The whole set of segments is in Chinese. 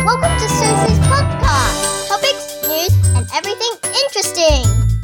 Welcome to Susie's podcast. Topics, news, and everything interesting.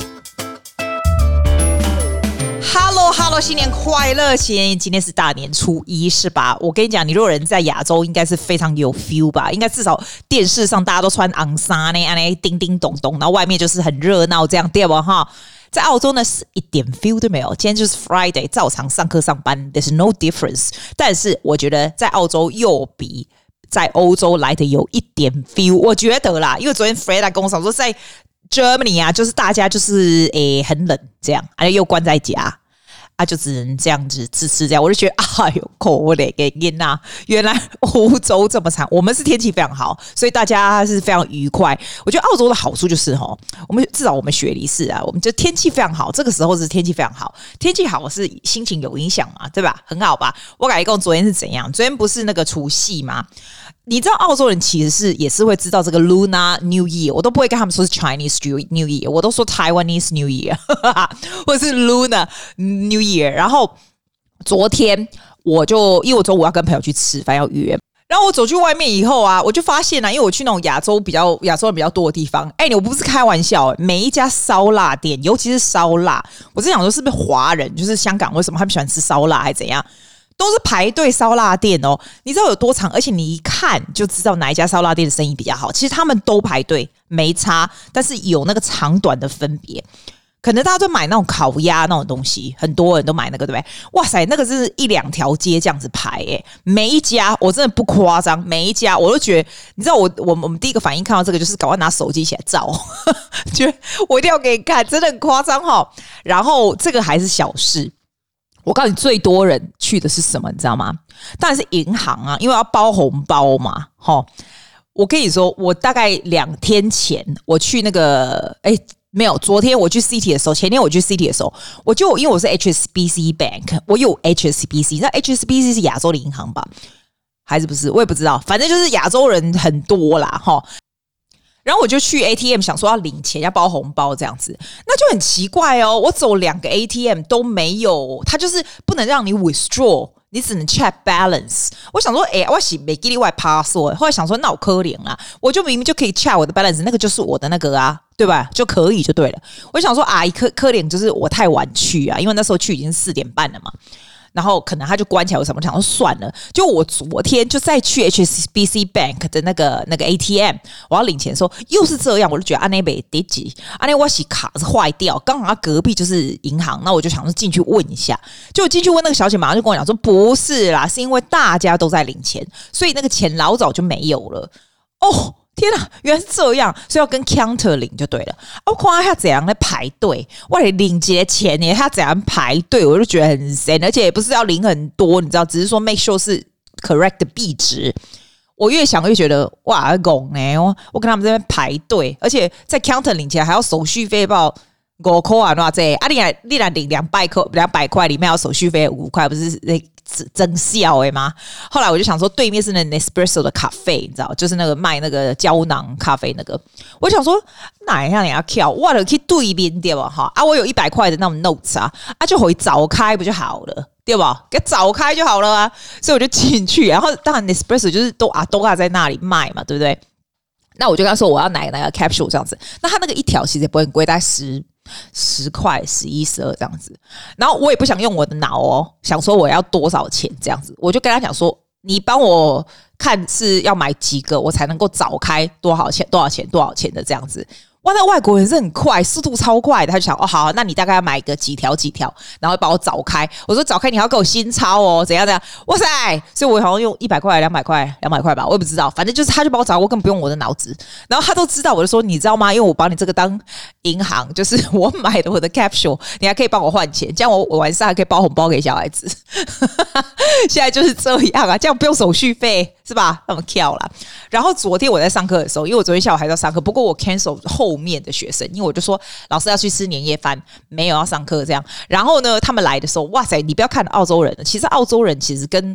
Hello， 新年快樂！今天是大年初一，是吧？我跟你講，你如果人在亞洲，應該是非常有 feel 吧？應該至少電視上大家都穿紅衫呢，叮叮咚咚，然後外面就是很熱鬧，這樣對吧？哈，在澳洲呢是一點 feel 都沒有。今天就是 Friday， 照常上課上班 ，there's no difference。但是我覺得在澳洲又比在歐洲來的有一點 feel， 我覺得啦，因為昨天 Freda 跟我講說，在 Germany 啊，就是大家就是很冷這樣，又關在家。就只能這樣子吃這樣，我就覺得哎呦，可憐給囡吶！原來歐洲這麼慘，我們是天氣非常好，所以大家是非常愉快。我覺得澳洲的好處就是我們至少我們雪梨市啊，我們就天氣非常好，這個時候是天氣非常好，天氣好是心情有影響嘛，對吧？很好吧？我跟你講昨天是怎樣？昨天不是那個除夕嗎？你知道澳洲人其實也是會知道這個 Lunar New Year， 我都不會跟他們說是 Chinese New Year， 我都說 Taiwanese New Year 或者是 Lunar New Year。然後昨天因為我中午要跟朋友去吃飯要約，然後我走去外面以後啊，我就發現因為我去那種亞洲人比較多的地方，我不是開玩笑，每一家燒臘店，尤其是燒臘，我是想說是不是華人，就是香港為什麼他們喜歡吃燒臘還是怎樣？都是排隊燒臘店哦，你知道有多長？而且你一看就知道哪一家燒臘店的生意比較好。其實他們都排隊沒差，但是有那個長短的分別。可能大家都買那種烤鴨那種東西，很多人都買那個，對不對？哇塞，那個是一兩條街這樣子排耶，每一家我真的不誇張，每一家我都覺得，你知道我們第一個反應看到這個就是趕快拿手機起來照，覺得我一定要給你看，真的很誇張齁。然後這個還是小事。我告訴你，最多人去的是什麼？你知道嗎？當然是銀行啊，因為要包紅包嘛。我跟你說，我大概2天前我去那個，沒有，昨天我去 City 的時候，前天我去 City 的時候，因為我是 HSBC Bank， 我有 HSBC， 那 HSBC 是亞洲的銀行吧？還是不是？我也不知道，反正就是亞洲人很多啦，然後我就去 ATM 想說要領錢要包紅包這樣子，那就很奇怪哦。我走2個 ATM 都沒有，它就是不能讓你 withdraw， 你只能 check balance。我想說，我是沒給你外 password， 後來想說那我可憐啦，我就明明就可以 check 我的 balance， 那個就是我的那個啊，對吧？就可以就對了。我想說可憐就是我太晚去啊，因為那時候去已經4點半了嘛。然後可能他就關起來，為什麼？我想說算了，就我昨天就再去 HSBC Bank 的那個 ATM， 我要領錢的時候又是這樣，我就覺得那邊得急，那我卡是壞掉，剛好他隔壁就是銀行，那我就想說進去問一下，就我進去問那個小姐，馬上就跟我講說不是啦，是因為大家都在領錢，所以那個錢老早就沒有了。哦。天哪，原來是這樣，所以要跟 counter 領就對了。我看他怎樣在排隊，我來領這些錢呢？他怎樣排隊，我就覺得很神，而且也不是要領很多，你知道，只是說 make sure 是 correct 的幣值。我越想越覺得哇，拱呢！我跟他們這邊排隊，而且在 counter 領錢還要手續費報5塊啊，那這你來領200塊裡面要手續費5塊，不是真笑嗎？後來我就想說，對面是那 Nespresso 的咖啡，你知道，就是那個賣那個膠囊咖啡那個。我想說，哪樣你要跳？我就去對面對吧？哈我有100塊的那種 notes 就可以早開不就好了，對吧？給早開就好了啊。所以我就進去，然後當然 Nespresso 就是都在那裡賣嘛，對不對？那我就跟他說我要哪個 capsule 這樣子。那他那個一條其實也不會很貴，大概10塊、11、12這樣子。然後我也不想用我的腦想說我要多少錢這樣子，我就跟他講說，你幫我看是要買幾個，我才能夠早開多少錢的這樣子。哇，那外國人是很快，速度超快的。他就想好，那你大概要買個幾條，然後把我早開。我說早開你要給我新鈔怎樣？哇塞！所以我好像用100塊、200塊吧，我也不知道。反正就是他就把我早，我根本不用我的腦子。然後他都知道，我就說你知道嗎？因為我把你這個當銀行，就是我買的我的 capsule， 你還可以幫我換錢，這樣我晚上還可以包紅包給小孩子。現在就是這樣啊，這樣不用手續費是吧？那麼跳啦。然後昨天我在上課的時候，因為我昨天下午還在上課，不過我 cancel 後面的學生，因為我就說老師要去吃年夜飯，沒有要上課這樣。然後呢，他們來的時候，哇塞，你不要看澳洲人，其實澳洲人其實跟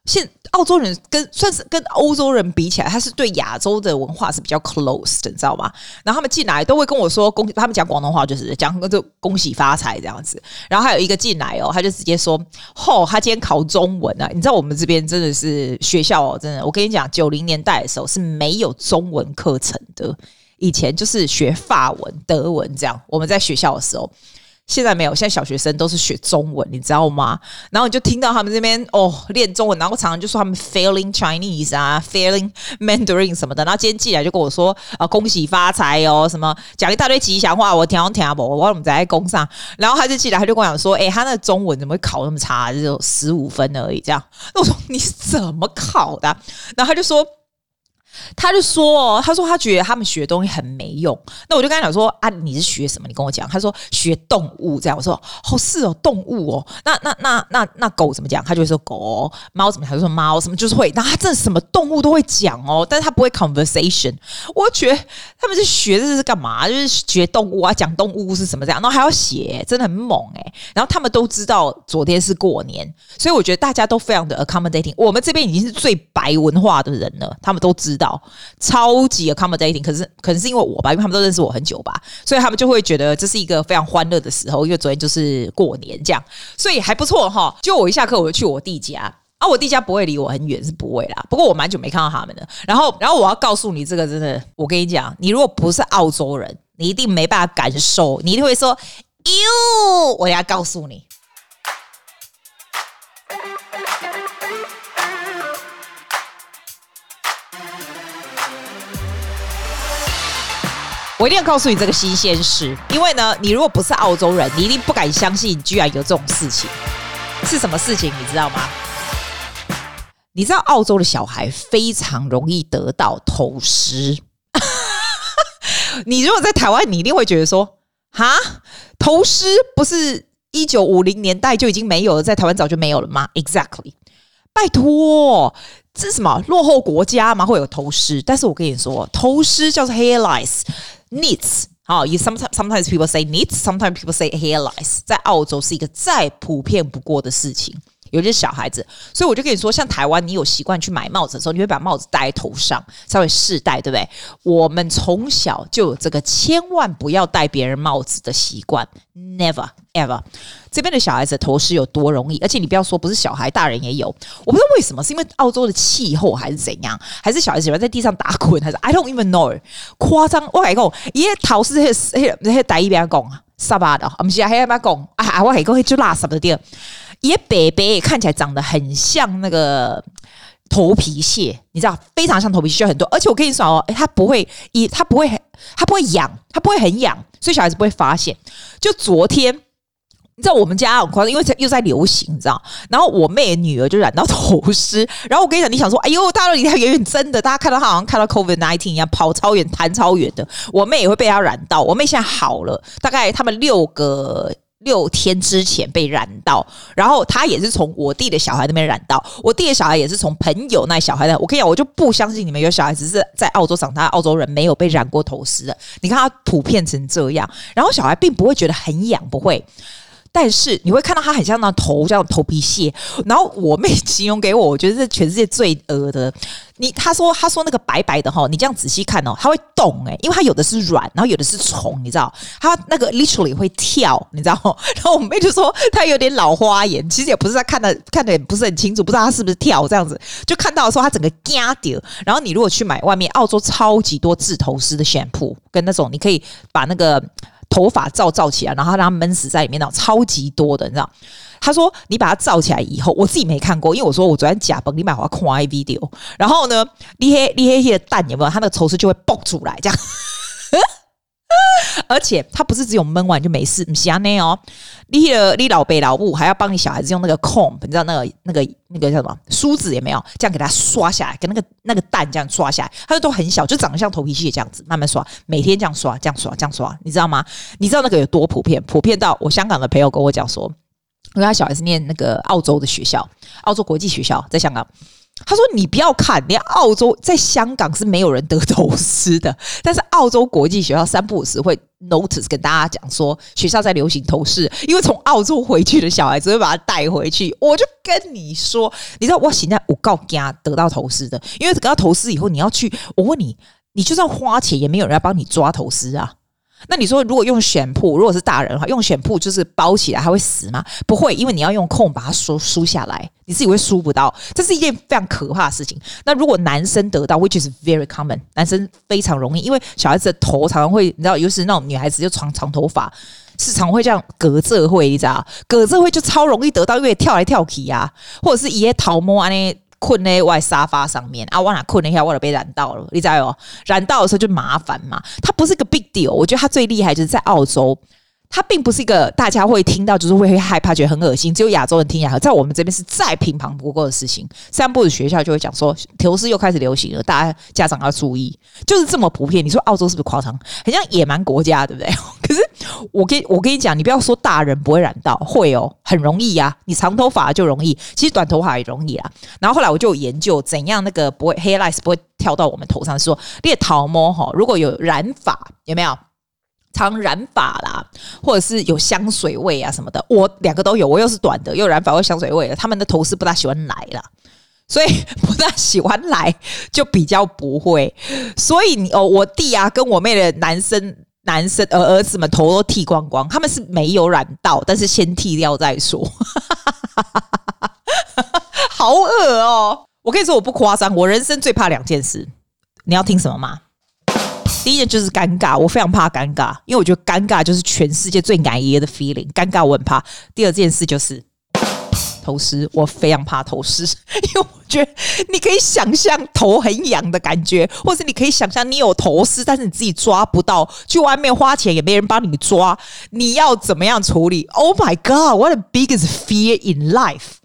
澳洲人算是跟歐洲人比起來，他是對亞洲的文化是比較 close 的，你知道嗎？然後他們進來都會跟我說他們講廣東話就是講就恭喜發財這樣子。然後還有一個進來他就直接說他今天考中文啊！你知道我們這邊真的是學校真的，我跟你講，90年代的時候是沒有中文課程的，以前就是學法文、德文這樣。我們在學校的時候。現在沒有，現在小學生都是學中文，你知道嗎？然後你就聽到他們這邊練中文，然後常常就說他們 failing Chinese 啊 ，failing Mandarin 什麼的。然後今天進來就跟我說恭喜發財哦，什麼講一大堆吉祥話，我聽不，我怎麼在工上？然後他就進來，他就跟我講說，他那個中文怎麼會考那麼差，只有15分而已，這樣。那我說你是怎麼考的？然後他就說他覺得他們學的東西很沒用。那我就跟他講說啊，你是學什麼？你跟我講。他說學動物這樣。我說是哦，動物哦。那狗怎麼講？他就會說狗。貓怎麼講？他就說貓。什麼就是會。那他真的什麼動物都會講哦，但是他不會 conversation。我覺得他們是學這是幹嘛？就是學動物啊，講動物是什麼這樣，然後還要寫，真的很猛然後他們都知道昨天是過年，所以我覺得大家都非常的 accommodating。我們這邊已經是最白文化的人了，他們都知道。超級 accommodating，可能是因為我吧，因為他們都認識我很久吧，所以他們就會覺得這是一個非常歡樂的時候，因為昨天就是過年這樣，所以還不錯哈。就我一下課我就去我弟家我弟家不會離我很遠，是不會啦，不過我蠻久沒看到他們了。然後我要告訴你這個真的，我跟你講，你如果不是澳洲人，你一定沒辦法感受，你一定會說喲，我要告訴你。我一定要告訴你這個新鮮事，因為呢，你如果不是澳洲人，你一定不敢相信居然有這種事情。是什麼事情你知道嗎？你知道澳洲的小孩非常容易得到頭虱。你如果在台灣，你一定會覺得說，哈，頭虱不是1950年代就已經沒有了，在台灣早就沒有了嗎 ？Exactly， 拜託。這是什麼落後國家嗎？會有頭虱？但是我跟你說，頭虱叫做 hair lice、nits。sometimes people say nits, sometimes people say hair lice。在澳洲是一個再普遍不過的事情，尤其是小孩子。所以我就跟你說，像台灣，你有習慣去買帽子的時候，你會把帽子戴在頭上，稍微試戴，對不對？我們從小就有這個千萬不要戴別人帽子的習慣 ，never ever。這邊的小孩子的頭虱有多容易，而且你不要說不是小孩，大人也有。我不知道為什麼，是因為澳洲的氣候還是怎樣，還是小孩子喜歡在地上打滾，還是 I don't even know。誇張，我跟你講，伊個頭虱迄台語邊講沙巴的，不是啊，迄邊講啊，我還講就垃圾的地。伊個白白看起來長得很像那個頭皮屑，你知道，非常像頭皮屑很多。而且我跟你說哦，它不會癢，它不會很癢，所以小孩子不會發現。就昨天。你知道我們家很誇張，因為又在流行，你知道？然後我妹的女兒就染到頭虱，然後我跟你講，你想說，哎呦，大家都離她遠遠，真的，大家看到她好像看到 COVID-19 一樣，跑超遠，彈超遠的。我妹也會被她染到，我妹現在好了，大概他們6天之前被染到，然後她也是從我弟的小孩那邊染到，我弟的小孩也是從朋友那小孩那。我跟你講，我就不相信你們有小孩子是在澳洲長大，澳洲人沒有被染過頭虱的。你看他普遍成這樣，然後小孩並不會覺得很癢，不會。但是你會看到它很像那頭，像頭皮屑。然後我妹形容給我，我覺得是全世界最惡的。她說那個白白的哈，你這樣仔細看哦，它會動因為它有的是卵，然後有的是蟲，你知道？它那個 literally 會跳，你知道？然後我妹就說她有點老花眼，其實也不是她看的也不是很清楚，不知道她是不是跳這樣子。就看到的時候，她整個驚掉。然後你如果去買外面澳洲超級多治頭虱的 shampoo，跟那種你可以把那個頭髮罩起來，然後讓它悶死在裡面，那種超級多的，你知道？他說你把它罩起來以後，我自己沒看過，因為我說我昨天假崩，你買我要看 video， 然後呢，你黑的蛋有沒有？它那個頭虱就會爆出來，這樣。而且它不是只有悶完就沒事，不是這樣哦。你老爸老母還要幫你小孩子用那個 comb， 你知道那個叫什麼梳子也沒有，這樣給它刷下來，跟那個蛋這樣刷下來，它都很小，就長得像頭皮屑這樣子，慢慢刷，每天這樣刷，你知道嗎？你知道那個有多普遍？普遍到我香港的朋友跟我講說，因為他小孩是念那個澳洲的學校，澳洲國際學校在香港。 他說：“你不要看，連澳洲在香港是沒有人得頭絲的，但是澳洲國際學校3不5時會 notice 跟大家講說學校在流行頭飾，因為從澳洲回去的小孩子會把他帶回去。我就跟你說，你知道我現在我告給他得到頭絲的，因為得到頭絲以後你要去，我問你，你就算花錢也沒有人要幫你抓頭絲啊。”那你說，如果用選鋪，如果是大人的話，用選鋪就是包起來，它會死嗎？不會，因為你要用空把它梳下來，你自己會梳不到，這是一件非常可怕的事情。那如果男生得到 ，which is very common， 男生非常容易，因為小孩子的頭常常会，你知道，尤其是那種女孩子就長头髮，是常會這樣隔這會，你知道，隔這會就超容易得到，因為跳來跳去啊，或者是一些頭毛啊那。困在外沙發上面啊，我哪困了一下，我就被染到了，你知道哦？染到的時候就麻煩嘛。它不是一個 big deal， 我覺得它最厲害就是在澳洲，它並不是一個大家會聽到就是會害怕，覺得很惡心，只有亞洲人聽起來，在我們這邊是再平常不過的事情。3不5學校就會講說，頭絲又開始流行了，大家長要注意，就是這麼普遍。你說澳洲是不是誇張？很像野蠻國家，對不對？可是我跟你講，你不要說大人不會染到，會哦，很容易啊。你長頭髮就容易，其實短頭髮也容易啦。然後後來我就有研究怎樣那個不會 hair lice 不會跳到我們頭上，說你的頭毛哈，如果有染髮，有沒有常染髮啦，或者是有香水味啊什麼的，我2個都有，我又是短的，又有染髮又香水味的，他們的頭絲不大喜歡來啦。所以不大喜歡來，就比較不會。所以我弟啊跟我妹的男生兒子們頭都剃光光，他們是沒有染到，但是先剃掉再說。好惡哦！我跟你說我不誇張，我人生最怕2件事，你要聽什麼嗎？第一件就是尷尬，我非常怕尷尬，因為我覺得尷尬就是全世界最難爺的 feeling， 尷尬我很怕。第2件事就是頭絲，我非常怕頭絲，因為我覺得你可以想象頭很癢的感覺，或是你可以想象你有頭絲，但是你自己抓不到，去外面花錢也沒人幫你抓，你要怎麼樣處理 ？Oh my God, what the biggest fear in life！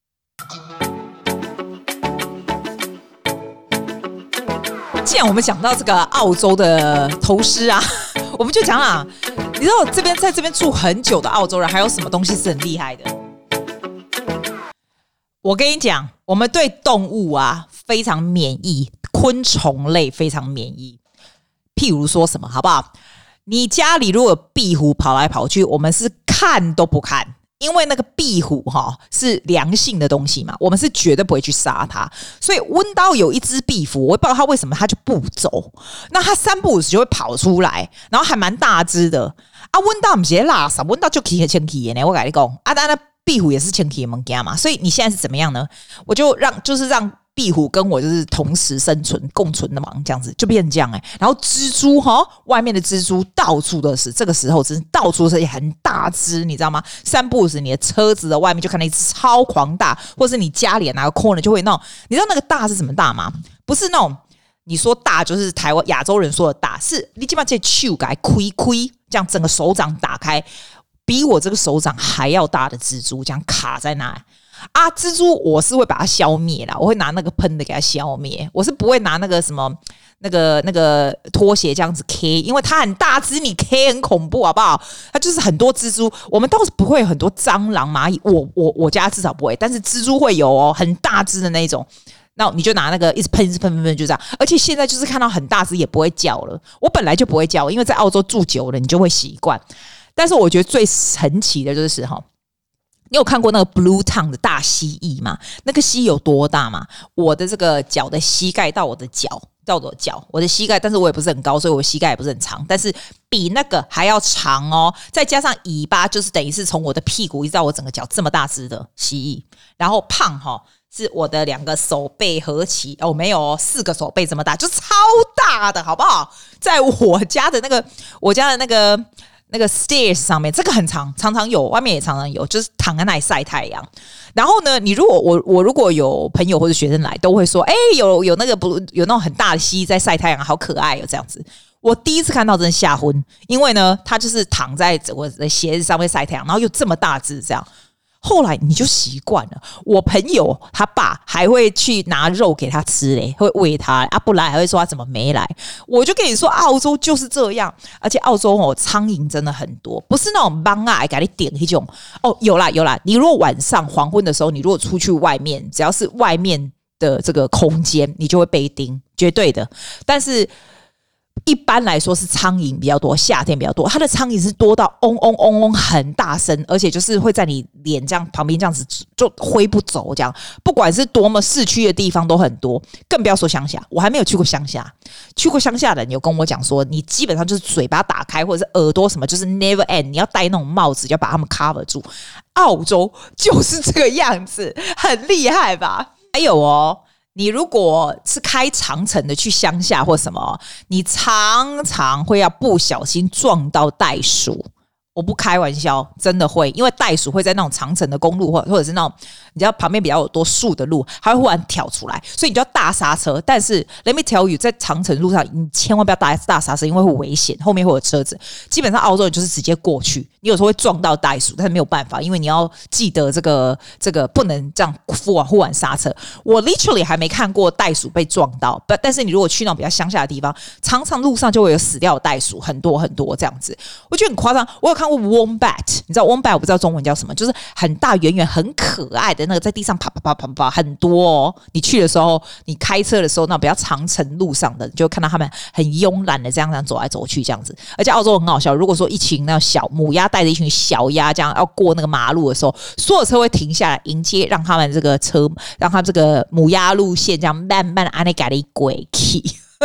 既然我們講到這個澳洲的頭絲啊，我們就講啦，你知道在這邊住很久的澳洲人，還有什麼東西是很厲害的？我跟你講，我們對動物啊非常免疫，昆蟲類非常免疫。譬如說什麼，好不好？你家裡如果有壁虎跑來跑去，我們是看都不看，因為那個壁虎是良性的東西嘛，我們是絕對不會去殺它。所以溫刀有一隻壁虎，我也不知道它為什麼它就不走，那它3不5時就會跑出來，然後還蠻大隻的啊。溫刀不是垃圾，溫刀就起很清氣的呢。我跟你講啊，當然壁虎也是清氣的物件嘛，所以你現在是怎麼樣呢？我就讓壁虎跟我就是同時生存共存的嘛，這樣子就變成這樣然後蜘蛛外面的蜘蛛到處都是，這個時候真是到處都是很大隻，你知道嗎？3不5時你的車子的外面就看到一隻超狂大，或是你家裡拿個 corner 就會那種，你知道那個大是什麼大嗎？不是那種你說大就是台灣亞洲人說的大，是你基本上這手給它開，這樣整個手掌打開，比我這個手掌還要大的蜘蛛這樣卡在那啊，蜘蛛我是會把它消滅啦，我會拿那個噴的給它消滅，我是不會拿那個什麼那個拖鞋這樣子 K， 因為它很大隻，你 K 很恐怖好不好？它就是很多蜘蛛，我們倒是不會有很多蟑螂螞蟻，我家至少不會，但是蜘蛛會有哦，很大隻的那一種。那你就拿那個一直噴就這樣，而且現在就是看到很大隻也不會叫了，我本來就不會叫，因為在澳洲住久了你就會習慣。但是我覺得最神奇的就是你有看過那個 Blue Tongue 的大蜥蜴嗎？那個蜥蜴有多大嗎？我的這個腳的膝蓋到我的腳，我的膝蓋，但是我也不是很高，所以我膝蓋也不是很長，但是比那個還要長哦。再加上尾巴，就是等於是從我的屁股一直到我整個腳這麼大隻的蜥蜴，然後胖是我的2個手背合起沒有4個手背這麼大，就超大的，好不好？在我家的那個 stairs 上面，這個很常常有，外面也常常有，就是躺在那裡曬太陽。然後呢，你如果我如果有朋友或者學生来，都會說，有那種很大的蜥蜴在曬太陽，好可愛哦，這樣子。我第一次看到真的嚇昏，因為呢，它就是躺在我的鞋子上面曬太陽，然後又這麼大隻這樣。後來你就習慣了。我朋友他爸還會去拿肉給他吃嘞，會餵他不來還會說他怎麼沒來。我就跟你說，澳洲就是這樣，而且澳洲蒼蠅真的很多，不是那種幫給你點那種有啦。你如果晚上黃昏的時候，你如果出去外面，只要是外面的這個空間，你就會被叮，絕對的。但是一般來說是蒼蠅比較多，夏天比較多，它的蒼蠅是多到嗡嗡嗡嗡很大聲，而且就是會在你臉這樣旁邊這樣子就揮不走，這樣不管是多麼市區的地方都很多，更不要說鄉下。我還沒有去過鄉下，去過鄉下的人有跟我講說，你基本上就是嘴巴打開或者是耳朵什麼，就是 never end， 你要戴那種帽子，要把它們 cover 住。澳洲就是這個樣子，很厲害吧？還有哦。你如果是開長程的去鄉下或什麼，你常常會要不小心撞到袋鼠。我不開玩笑，真的會，因為袋鼠會在那種長程的公路或者是那種你知道旁邊比較有多樹的路，它會忽然跳出來，所以你就要大剎車。但是 let me tell you， 在長程路上你千萬不要大剎車，因為會危險，後面會有車子。基本上澳洲人就是直接過去，你有時候會撞到袋鼠，但是沒有辦法，因為你要記得這個不能這樣忽然剎車。我 literally 還沒看過袋鼠被撞到，但是你如果去那種比較鄉下的地方，常常路上就會有死掉的袋鼠，很多很多這樣子，我覺得很誇張。我有看過 wombat， 你知道 wombat 我不知道中文叫什麼，就是很大圓圓很可愛的那個，在地上爬爬爬爬爬很多哦。你去的時候，你開車的時候，那比較長程路上的，你就會看到他們很慵懶的這樣走來走去這樣子。而且澳洲很好笑，如果說一群那小母鴨帶着一群小鴨這樣要過那個馬路的時候，所有車會停下來迎接，讓他們這個車，讓他這個母鴨路線這樣慢慢按那給你過去。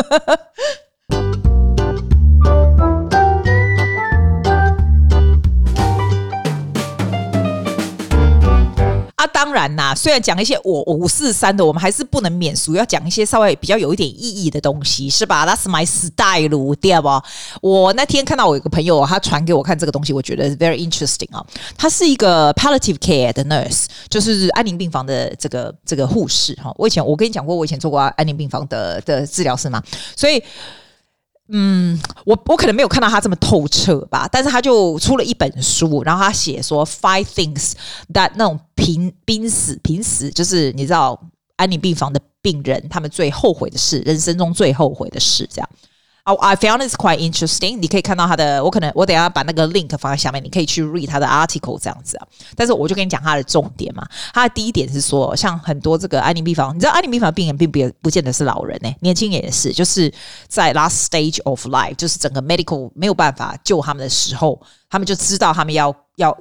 當然啦，雖然講一些我543的，我們還是不能免俗，要講一些稍微比較有一點意義的東西，是吧？ That's my style， 對吧？我那天看到我有個朋友，他傳給我看這個東西，我覺得 very interesting 啊。他是一個 palliative care 的 nurse， 就是安寧病房的這個護士哈。我跟你講過，我以前做過安寧病房的治療師嘛，所以。我可能沒有看到他這麼透徹吧，但是他就出了一本書，然後他寫說 5 things that 那種瀕死，就是你知道安寧病房的病人他們最後悔的事，人生中最後悔的事，這樣。I found this quite interesting。你可以看到他的，我等一下把那個 link 放在下面，你可以去 read 他的 article 這樣子啊。但是我就跟你講他的重點嘛。他的第一點是說，像很多這個安寧病房，你知道安寧病房的病人並不見得是老人年輕人也是，就是在 last stage of life， 就是整個 medical 沒有辦法救他們的時候，他們就知道他們要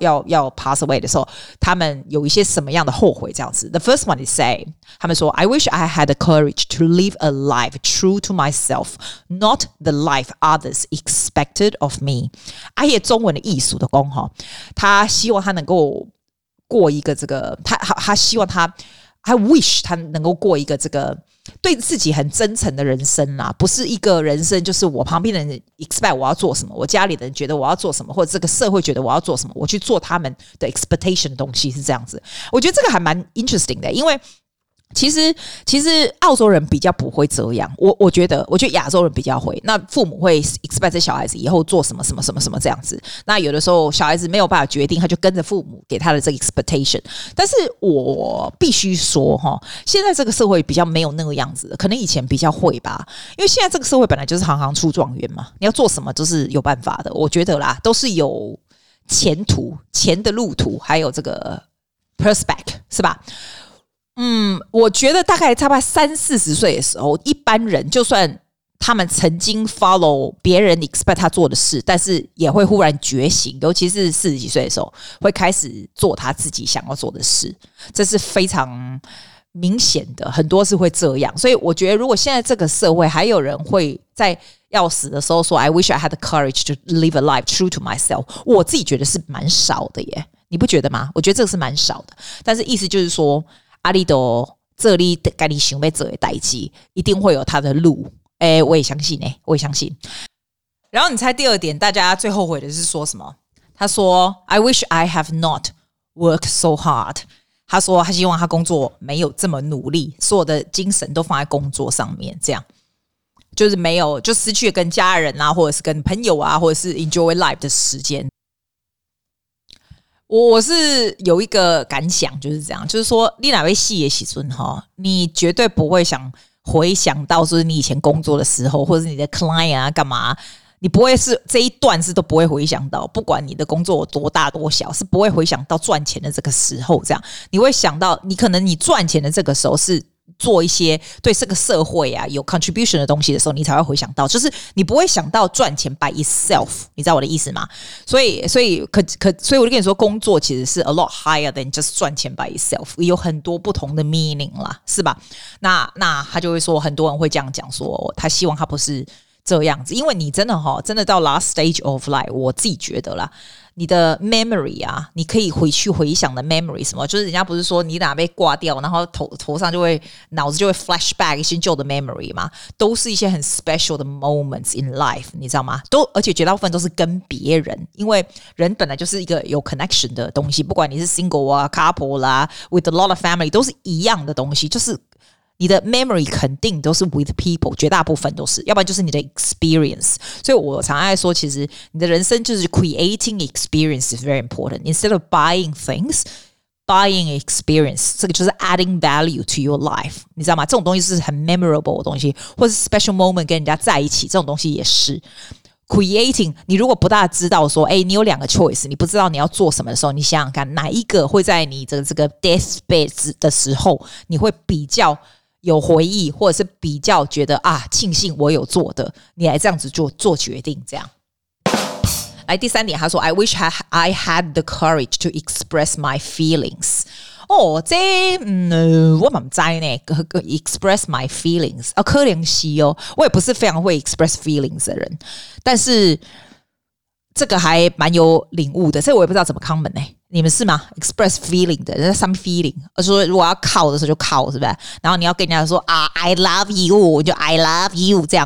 pass away 的時候，他們有一些什麼樣的後悔這樣子。The first one is say， 他們說 I wish I had the courage to live a life true to myself, not the life others expected of me。 阿葉中文的藝術的功哈，他希望他能夠過一個這個，他希望他 I wish 他能夠過一個這個對自己很真誠的人生啦，不是一個人生就是我旁邊的人 expect 我要做什麼，我家裡的人覺得我要做什麼，或者這個社會覺得我要做什麼，我去做他們的 expectation 的東西，是這樣子。我覺得這個還蠻 interesting 的，因為其實澳洲人比較不會這樣，我覺得亞洲人比較會。那父母會 expect 這小孩子以後做什麼什麼什麼什麼這樣子。那有的時候小孩子沒有辦法決定，他就跟着父母給他的這個 expectation。但是我必須說哈，現在這個社會比較沒有那個樣子的，可能以前比較會吧。因為現在這個社會本來就是行行出狀元嘛，你要做什麼都是有辦法的。我覺得啦，都是有前途、錢的路途，還有這個 prospect， 是吧？我覺得大概差不多30-40歲的時候，一般人就算他們曾經 follow 別人 expect 他做的事，但是也會忽然覺醒，尤其是40幾歲的時候，會開始做他自己想要做的事，這是非常明顯的，很多是會這樣。所以我覺得，如果現在這個社會還有人會在要死的時候說 I wish I had the courage to live a life true to myself， 我自己覺得是蠻少的耶，你不覺得嗎？我覺得這個是蠻少的，但是意思就是說阿里多這裡該你想要做的代誌，一定會有他的路。我也相信我也相信。然後你猜第二點，大家最後悔的是說什麼？他說 I wish I have not worked so hard。他說他希望他工作沒有這麼努力，所有的精神都放在工作上面，這樣就是沒有，就失去了跟家人啊，或者是跟朋友啊，或者是 enjoy life 的時間。我是有一個感想，就是這樣，就是說你哪位戲的時候，你絕對不會回想到說你以前工作的時候，或者是你的 client 啊幹嘛，你不會是這一段是都不會回想到，不管你的工作有多大多小，是不會回想到賺錢的這個時候，這樣你會想到你可能你賺錢的這個時候是做一些對這個社會啊有 contribution 的東西的時候，你才會回想到，就是你不會想到賺錢 by itself， 你知道我的意思嗎？所以我就跟你說，工作其實是 a lot higher than just 賺錢 by itself， 有很多不同的 meaning 啦，是吧？那他就會說，很多人會這樣講說，他希望他不是這樣子，因為你真的到 last stage of life， 我自己覺得啦。你的 memory 啊，你可以回去回想的 memory 什麼，就是人家不是說你哪被掛掉，然後頭上腦子就會 flashback 一些舊的 memory 嘛，都是一些很 special 的 moments in life， 你知道嗎？而且絕大部分都是跟別人，因為人本來就是一個有 connection 的東西，不管你是 single 啊 couple 啦 with a lot of family 都是一樣的東西，就是你的 memory 肯定都是 with people， 絕大部分都是，要不然就是你的 experience。所以我常愛說，其實你的人生就是 creating experience is very important. Instead of buying things, buying experience， 这個就是 adding value to your life， 你知道嗎？這種東西是很 memorable 的東西，或是 special moment 跟人家在一起，這種東西也是。Creating， 你如果不大知道說，你有2個 choice， 你不知道你要做什麼的時候，你想想看，哪一個會在你這個 deathbed 的時候，你會比較有回憶，或者是比較覺得慶幸我有做的，你來這樣子做決定，這樣。來第3點，他說 I wish I had the courage to express my feelings。這我唔知呢 ，express my feelings 可能是我也不是非常會 express feelings 的人，但是這個還蠻有領悟的，這我也不知道怎麼 comment 呢。你們是嗎 ？express feeling 的，人家 some feeling， 說如果要靠的時候就靠，是不是？然後你要跟人家說I love you， 就 I love you 這樣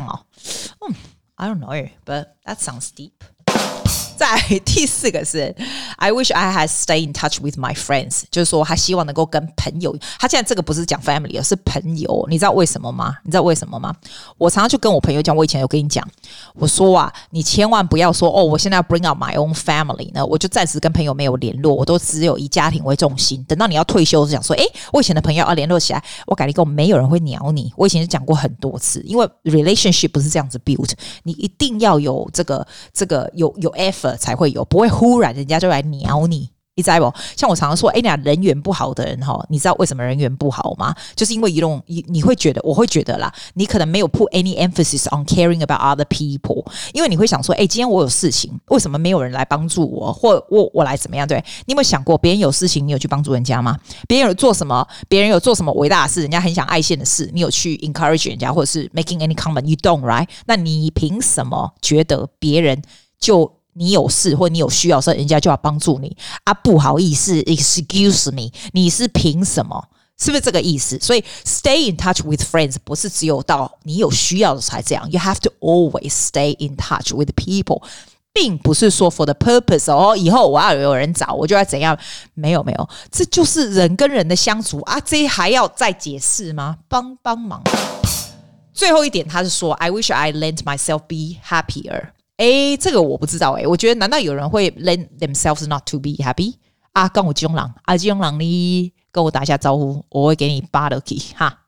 I don't know, but that sounds deep。再第4個是 I wish I had stayed in touch with my friends， 就是說他希望能夠跟朋友，他現在這個不是講 family， 而是朋友，你知道為什麼嗎？我常常就跟我朋友講，我以前有跟你講，我說你千萬不要說我現在要 bring up my own family 呢，我就暫時跟朋友沒有聯絡，我都只有以家庭為重心，等到你要退休就想說我以前的朋友要聯絡起來，我跟你講沒有人會鳥你，我以前就講過很多次，因為 relationship 不是這樣子 build， 你一定要有這個有 effort才會有，不會忽然人家就來鳥你，你知道不？像我常常說，你人緣不好的人你知道為什麼人緣不好嗎？就是因為你會覺得，我會覺得啦，你可能沒有 put any emphasis on caring about other people， 因為你會想說，今天我有事情，為什麼沒有人來幫助我，或我來怎麼樣？對，你有沒有想過，別人有事情，你有去幫助人家嗎？別人有做什麼偉大的事，人家很想愛獻的事，你有去 encourage 人家，或者是 making any comment？ You don't, right？ 那你憑什麼覺得別人就你有事或你有需要的時候，人家就要幫助你不好意思 excuse me， 你是憑什麼？是不是這個意思？所以 stay in touch with friends 不是只有到你有需要的才這樣， you have to always stay in touch with people， 並不是說 for the purpose 以後我要有人找我就要怎樣，沒有，這就是人跟人的相處這還要再解釋嗎？幫忙。最後一點他是說 I wish I let myself be happier。這個我不知道我覺得難道有人會 let themselves not to be happy 跟我這種人這種人你跟我打一下招呼，我會給你扒了去哈。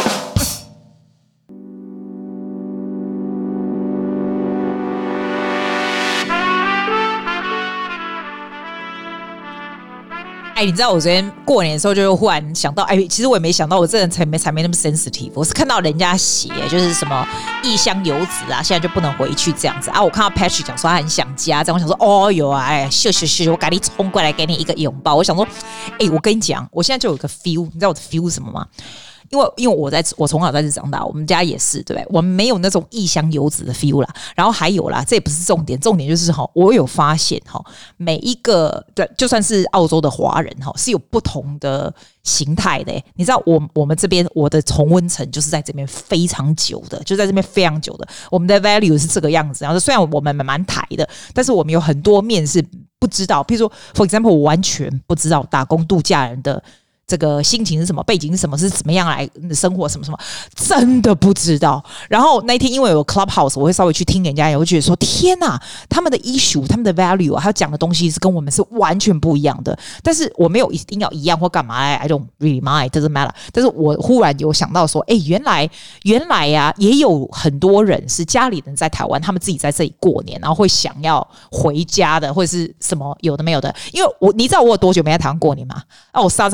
你知道我昨天過年的時候就忽然想到其實我也沒想到我這人才沒那麼 sensitive， 我是看到人家寫就是什麼異鄉遊子現在就不能回去這樣子我看到 Patrick 講說他很想家這樣，我想說有秀，我趕緊衝過來給你一個擁抱，我想說我跟你講，我現在就有一個 feel， 你知道我的 feel 是什麼嗎？因為我從小在這長大，我們家也是，对不對？我們沒有那種異鄉遊子的 feel 啦。然後還有啦，這也不是重點，重點就是我有發現每一個就算是澳洲的華人是有不同的形態的。你知道我們這邊我的同溫層就是在這邊非常久的，就在這邊非常久的，我們的 value 是這個樣子。然後雖然我們蠻台的，但是我們有很多面是不知道，譬如說 for example 我完全不知道打工度假人的這個心情是什麼，背景是什麼，是怎麼樣來生活，什麼什麼，真的不知道。然後那一天因為有 Clubhouse， 我会稍微去聽人家，我会覺得說天哪，他們的 issue， 他們的 value， 還有講的東西是跟我們是完全不一樣的。但是我沒有一定要一樣或幹嘛 ，I don't really mind, doesn't matter。但是我忽然有想到說，原來也有很多人是家裡人在台灣，他們自己在這裡過年，然後會想要回家的，或者是什麼有的沒有的。因為你知道我有多久沒在台灣過年嗎？我傻傻歸當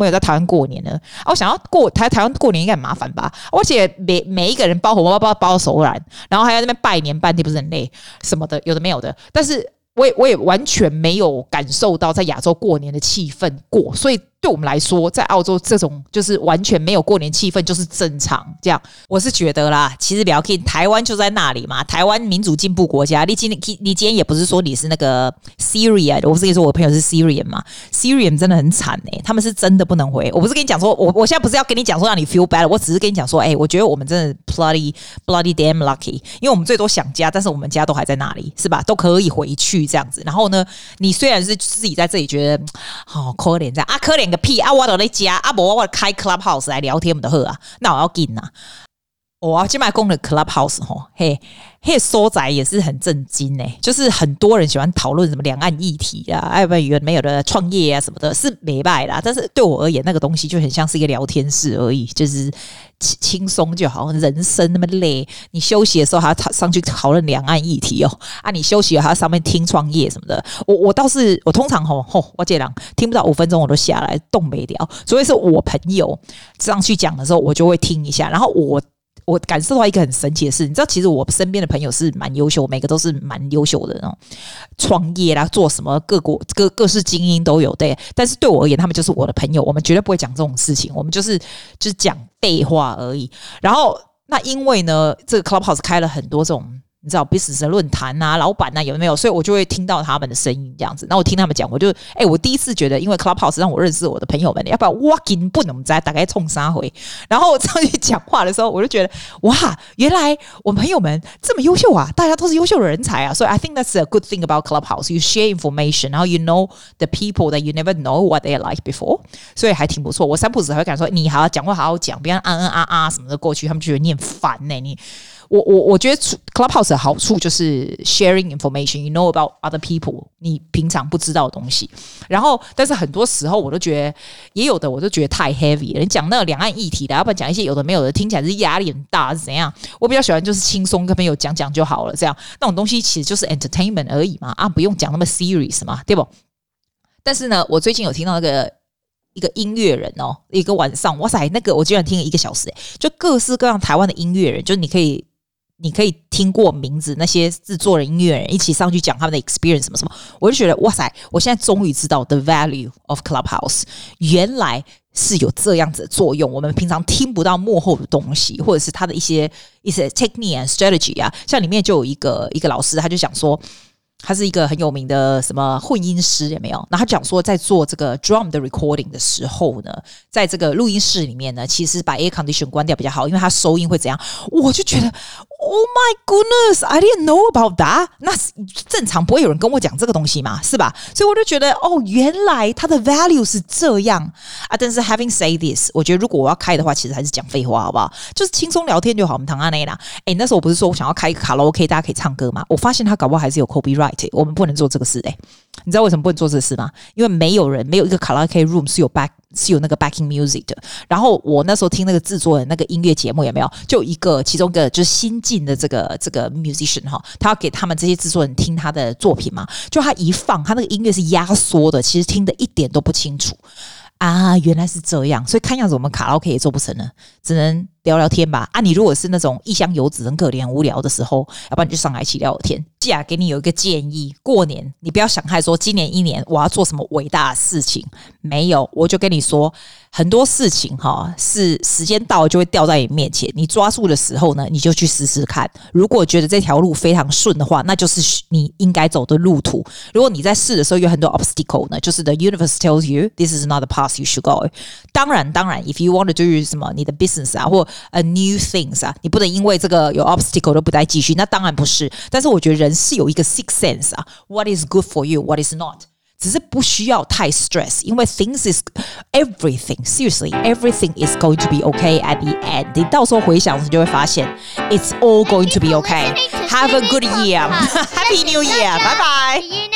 沒有在台灣過年呢？我想要過台灣過年應該很麻煩吧？而且每一個人包紅包包到手軟，然後還要在那邊拜年半天，不是很累什麼的，有的沒有的。但是我也完全沒有感受到在亞洲過年的氣氛過，所以對我們來說，在澳洲這種就是完全沒有過年氣氛就是正常這樣。我是覺得啦，其實不要緊，台灣就在那裡嘛，台灣民主進步國家。你今天也不是說你是那個 Syria 的，我不是跟你說我朋友是 Syrian 嘛 ，Syrian 真的很慘他們是真的不能回。我不是跟你講說，我現在不是要跟你講說讓你 feel bad， 我只是跟你講說，我覺得我們真的 bloody damn lucky， 因為我们最多想家，但是我們家都還在那裡，是吧？都可以回去這樣子。然後呢，你雖然是自己在這裡覺得好可憐這樣啊，可憐個屁啊！我都在家啊，我開 Clubhouse 來聊天，我們就好啊。那我要緊啊！我今麥講的 Clubhouse 嘿，所在也是很震驚就是很多人喜歡討論什麼兩岸議題啊，有沒有的創業啊什麼的，是沒敗啦。但是對我而言，那個東西就很像是一個聊天室而已，就是輕鬆就好。人生那麼累，你休息的時候還要上去討論兩岸議題你休息還要上面聽創業什麼的。我倒是我通常我這樣聽不到5分鐘我都下來動沒了，所以是我朋友上去講的時候，我就會聽一下，然後我感受到一個很神奇的事，你知道，其實我身邊的朋友是蠻優秀，每個都是蠻優秀的那種創業啦，做什麼各式精英都有對。但是對我而言，他們就是我的朋友，我們絕對不會講這種事情，我們就是講廢話而已。然後那因為呢，這個 Clubhouse 開了很多這種。你知道 business 的論壇啊，老闆啊，有沒有？所以我就會聽到他們的聲音這樣子。然後我聽他們講，我第一次覺得，因為 Clubhouse 讓我認識我的朋友們，要不然我根本不知道大概衝啥回。然後上去講話的時候，我就覺得哇，原來我朋友們這麼優秀啊，大家都是優秀的人才啊。所以 I think that's a good thing about Clubhouse. You share information, 然後 you know the people that you never know what they're like before. 所以還挺不錯。我三不五時還會感覺說，你好好講話，好好講，不要什麼的過去，他們就覺得你很煩你。我覺得 Clubhouse 的好處就是 sharing information, you know about other people, 你平常不知道的東西。然後，但是很多時候我都覺得，也有的我都覺得太 heavy 了。你講那個兩岸議題的，要不然講一些有的沒有的，聽起來是壓力很大是怎樣？我比較喜歡就是輕鬆跟朋友講講就好了，這樣那種東西其實就是 entertainment 而已嘛，不用講那麼 serious 嘛，對不？但是呢，我最近有聽到一個音樂人一個晚上，哇塞，那個我居然聽了1個小時，就各式各樣台灣的音樂人，就是你可以聽過名字那些制作人、音樂人一起上去講他們的 experience 什麼什麼，我就覺得哇塞，我現在終於知道 the value of Clubhouse， 原來是有這樣子的作用。我們平常聽不到幕後的東西，或者是他的一些 technique and strategy 啊，像裡面就有一個老師，他就想說。他是一個很有名的什麼混音師，有沒有？然後他講說，在做這個 drum 的 recording 的時候呢，在這個錄音室裡面呢，其實把 air condition 關掉比較好，因為它收音會怎樣？我就覺得 ，Oh my goodness, I didn't know about that。那正常不會有人跟我講這個東西嘛，是吧？所以我就覺得，原來它的 value 是這樣啊。但是 having said this， 我覺得如果我要開的話，其實還是講廢話，好不好？就是輕鬆聊天就好。我們唐安內啦，那時候我不是說我想要開一個卡拉 OK， 大家可以唱歌嗎？我發現他搞不好還是有 copyright。我們不能做這個事你知道為什麼不能做這個事嗎？因為沒有一個卡拉 OK room 是有那個 backing music 的。然後我那時候聽那個制作人那個音樂節目有沒有？就其中一個就是新進的這個 musician 他要給他們這些制作人聽他的作品嘛，就他一放，他那個音樂是壓縮的，其實聽得一點都不清楚啊，原來是這樣。所以看樣子我們卡拉 OK 也做不成了，只能聊聊天吧。你如果是那種異鄉遊子很可憐很無聊的時候，要不然你就上來一起聊聊天。既然給你有一個建議，過年你不要想太說今年1年我要做什麼偉大的事情，沒有，我就跟你說很多事情是時間到了就會掉在你面前，你抓住的時候呢，你就去試試看。如果覺得這條路非常順的話，那就是你應該走的路途。如果你在試的時候有很多 obstacle 呢，就是 the universe tells you this is not the path you should go。當然 if you want to do 什麼你的 business 或new things 你不能因為這個有 obstacle 都不再繼續，那當然不是。但是我覺得人是有一個 sixth sense what is good for you, what is not。只是不需要太 stress， 因為 things is everything. Seriously, everything is going to be okay at the end. 你到时候回想，你就會發現 it's all going to be okay. Have a good year. Happy New Year. Bye bye.